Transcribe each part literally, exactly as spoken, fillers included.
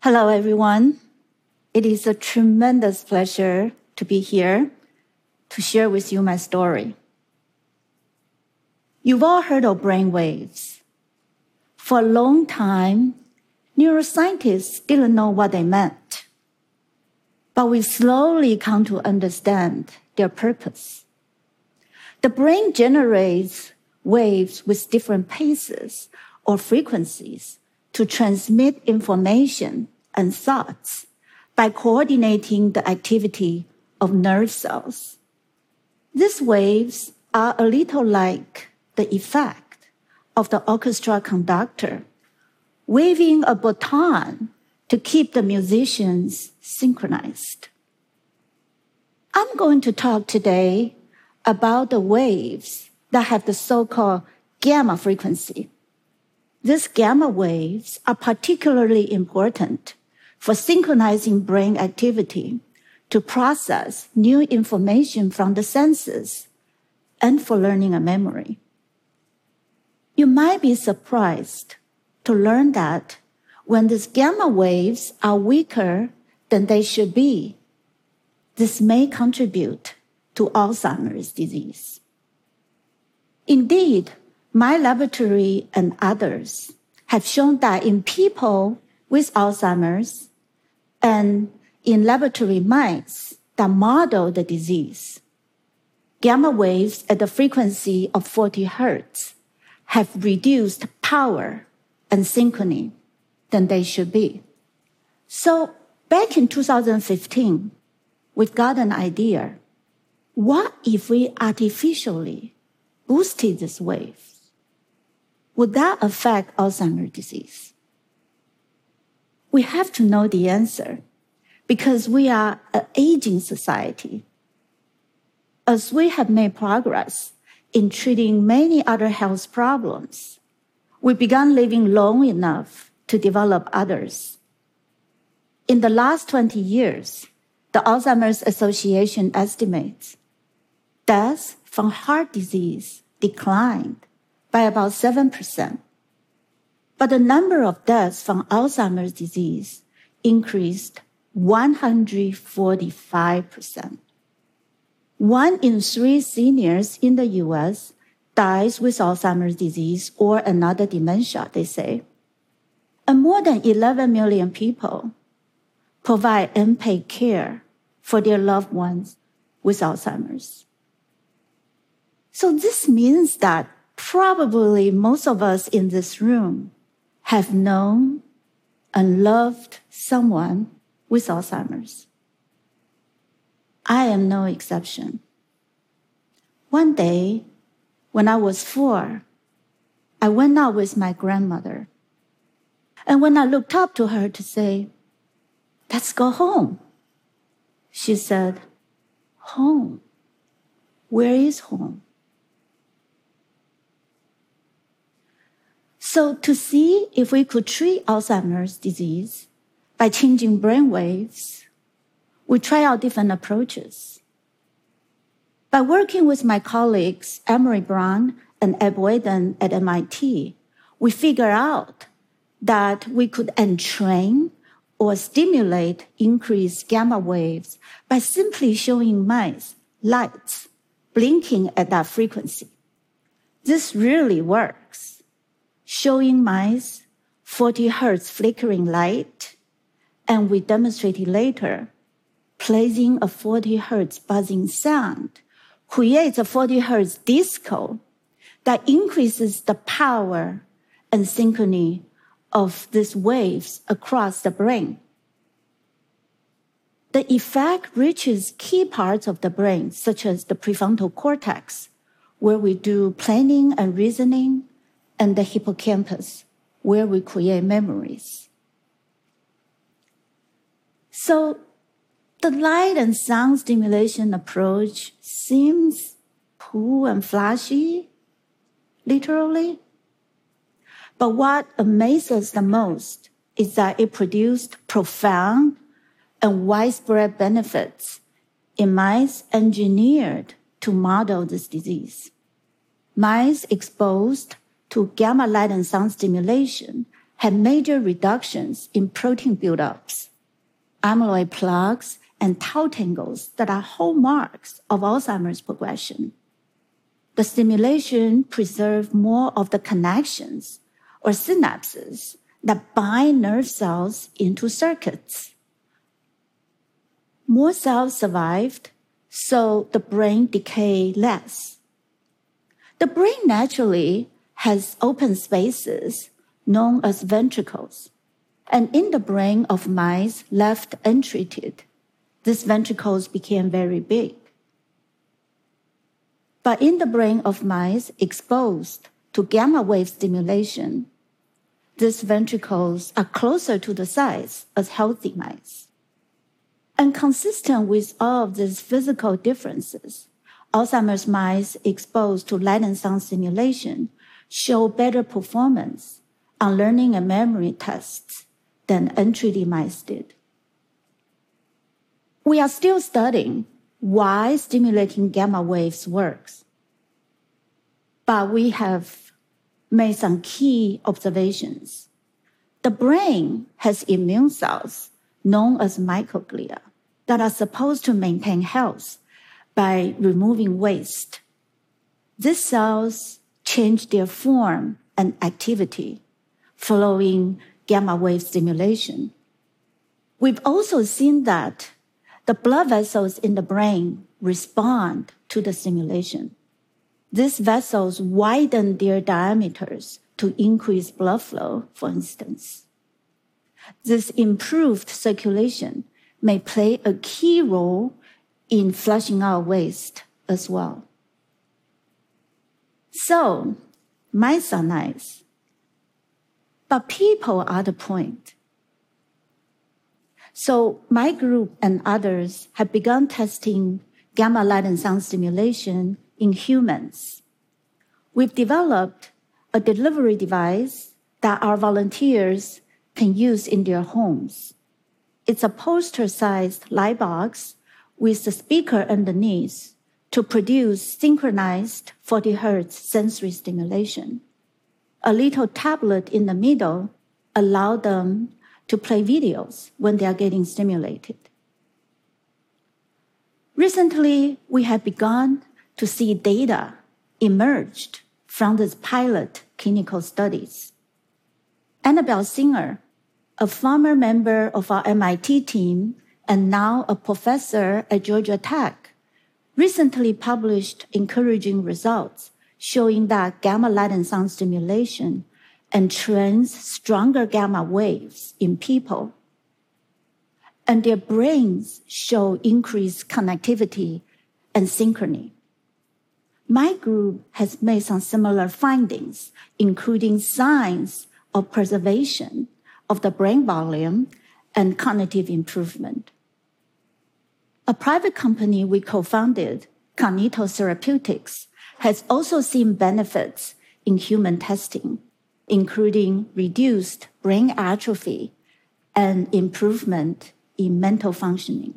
Hello, everyone. It is a tremendous pleasure to be here to share with you my story. You've all heard of brain waves. For a long time, neuroscientists didn't know what they meant, but we slowly come to understand their purpose. The brain generates waves with different paces or frequencies to transmit information and thoughts by coordinating the activity of nerve cells. These waves are a little like the effect of the orchestra conductor waving a baton to keep the musicians synchronized. I'm going to talk today about the waves that have the so-called gamma frequency. These gamma waves are particularly important for synchronizing brain activity to process new information from the senses and for learning and memory. You might be surprised to learn that when these gamma waves are weaker than they should be, this may contribute to Alzheimer's disease. Indeed, my laboratory and others have shown that in people with Alzheimer's and in laboratory mice that model the disease, gamma waves at the frequency of forty hertz have reduced power and synchrony than they should be. So back in two thousand fifteen, we got an idea. What if we artificially boosted this wave? Would that affect Alzheimer's disease? We have to know the answer because we are an aging society. As we have made progress in treating many other health problems, we began living long enough to develop others. In the last twenty years, the Alzheimer's Association estimates deaths from heart disease declined by about seven percent. But the number of deaths from Alzheimer's disease increased one hundred forty-five percent. One in three seniors in the U S dies with Alzheimer's disease or another dementia, they say. And more than eleven million people provide unpaid care for their loved ones with Alzheimer's. So this means that probably most of us in this room have known and loved someone with Alzheimer's. I am no exception. One day, when I was four, I went out with my grandmother. And when I looked up to her to say, "Let's go home," she said, "Home? Where is home?" So to see if we could treat Alzheimer's disease by changing brain waves, we try out different approaches. By working with my colleagues, Emery Brown and Ed Whedon at M I T, we figured out that we could entrain or stimulate increased gamma waves by simply showing mice lights blinking at that frequency. This really works. Showing mice forty hertz flickering light, and we demonstrated later, placing a forty hertz buzzing sound creates a forty hertz disco that increases the power and synchrony of these waves across the brain. The effect reaches key parts of the brain, such as the prefrontal cortex, where we do planning and reasoning, and the hippocampus, where we create memories. So the light and sound stimulation approach seems cool and flashy, literally. But what amazes the most is that it produced profound and widespread benefits in mice engineered to model this disease. Mice exposed to gamma light and sound stimulation had major reductions in protein buildups, amyloid plaques, and tau tangles that are hallmarks of Alzheimer's progression. The stimulation preserved more of the connections or synapses that bind nerve cells into circuits. More cells survived, so the brain decayed less. The brain naturally has open spaces known as ventricles, and in the brain of mice left untreated, these ventricles became very big. But in the brain of mice exposed to gamma wave stimulation, these ventricles are closer to the size as healthy mice. And consistent with all of these physical differences, Alzheimer's mice exposed to light and sound stimulation show better performance on learning and memory tests than untreated mice did. We are still studying why stimulating gamma waves works, but we have made some key observations. The brain has immune cells known as microglia that are supposed to maintain health by removing waste. These cells change their form and activity following gamma wave stimulation. We've also seen that the blood vessels in the brain respond to the stimulation. These vessels widen their diameters to increase blood flow, for instance. This improved circulation may play a key role in flushing out waste as well. So, mice are nice, but people are the point. So my group and others have begun testing gamma light and sound stimulation in humans. We've developed a delivery device that our volunteers can use in their homes. It's a poster-sized light box with a speaker underneath to produce synchronized forty hertz sensory stimulation. A little tablet in the middle allows them to play videos when they are getting stimulated. Recently, we have begun to see data emerged from these pilot clinical studies. Annabelle Singer, a former member of our M I T team and now a professor at Georgia Tech, recently published encouraging results showing that gamma light and sound stimulation entrains stronger gamma waves in people, and their brains show increased connectivity and synchrony. My group has made some similar findings, including signs of preservation of the brain volume and cognitive improvement. A private company we co-founded, Cognito Therapeutics, has also seen benefits in human testing, including reduced brain atrophy and improvement in mental functioning.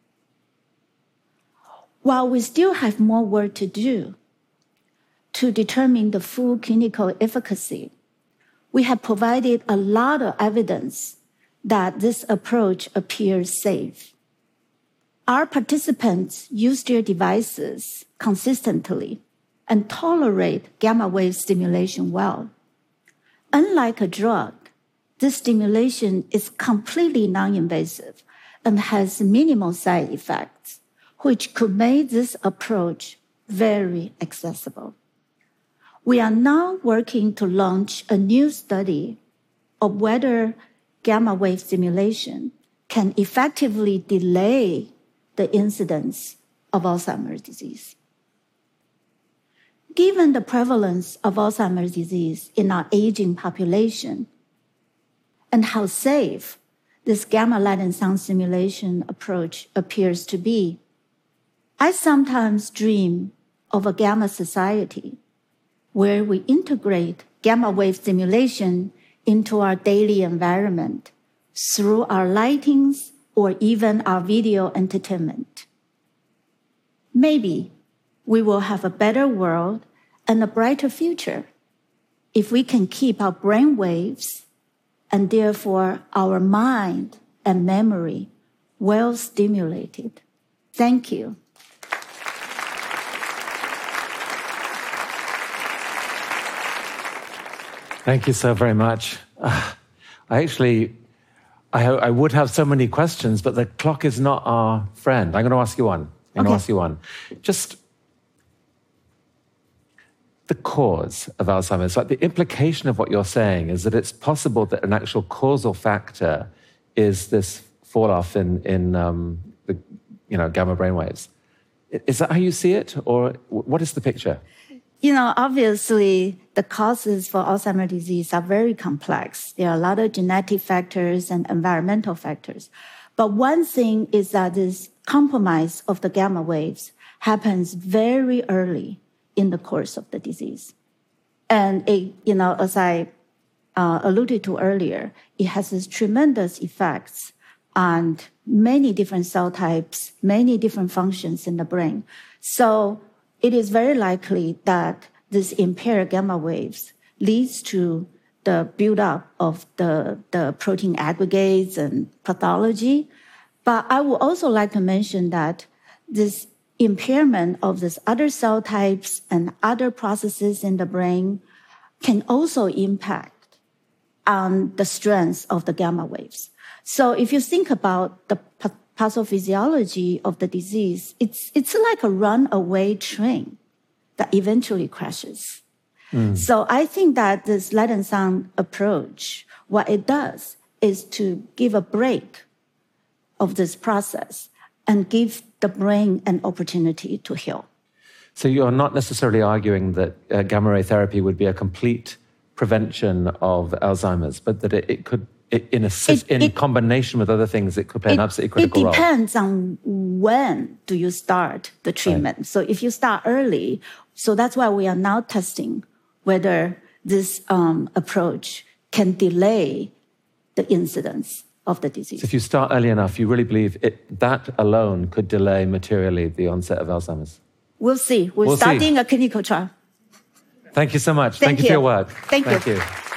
While we still have more work to do to determine the full clinical efficacy, we have provided a lot of evidence that this approach appears safe. Our participants use their devices consistently and tolerate gamma wave stimulation well. Unlike a drug, this stimulation is completely non-invasive and has minimal side effects, which could make this approach very accessible. We are now working to launch a new study of whether gamma wave stimulation can effectively delay the incidence of Alzheimer's disease. Given the prevalence of Alzheimer's disease in our aging population and how safe this gamma light and sound stimulation approach appears to be, I sometimes dream of a gamma society where we integrate gamma wave stimulation into our daily environment through our lightings or even our video entertainment. Maybe we will have a better world and a brighter future if we can keep our brain waves and therefore our mind and memory well stimulated. Thank you. Thank you so very much. Uh, I actually, I, I would have so many questions, but the clock is not our friend. I'm going to ask you one. I'm going to ask you one. Just the cause of Alzheimer's, like the implication of what you're saying is that it's possible that an actual causal factor is this fall-off in, in um, the you know, gamma brainwaves. Is that how you see it, or what is the picture? You know, obviously, the causes for Alzheimer's disease are very complex. There are a lot of genetic factors and environmental factors. But one thing is that this compromise of the gamma waves happens very early in the course of the disease. And, it, you know, as I uh, alluded to earlier, it has this tremendous effects on many different cell types, many different functions in the brain. So it is very likely that this impaired gamma waves leads to the buildup of the, the protein aggregates and pathology. But I would also like to mention that this impairment of these other cell types and other processes in the brain can also impact on the strength of the gamma waves. So if you think about the pathophysiology of the disease, it's, it's like a runaway train that eventually crashes. Mm. So I think that this light and sound approach, what it does is to give a break of this process and give the brain an opportunity to heal. So you're not necessarily arguing that uh, gamma ray therapy would be a complete prevention of Alzheimer's, but that it, it could in, assist, it, in it, combination with other things, it could play it, an absolutely critical role. It depends role. on when do you start the treatment. Right. So if you start early, so that's why we are now testing whether this um, approach can delay the incidence of the disease. So if you start early enough, you really believe it, that alone could delay materially the onset of Alzheimer's? We'll see. We're we'll starting see. a clinical trial. Thank you so much. Thank, Thank you. you for your work. Thank, Thank you. you.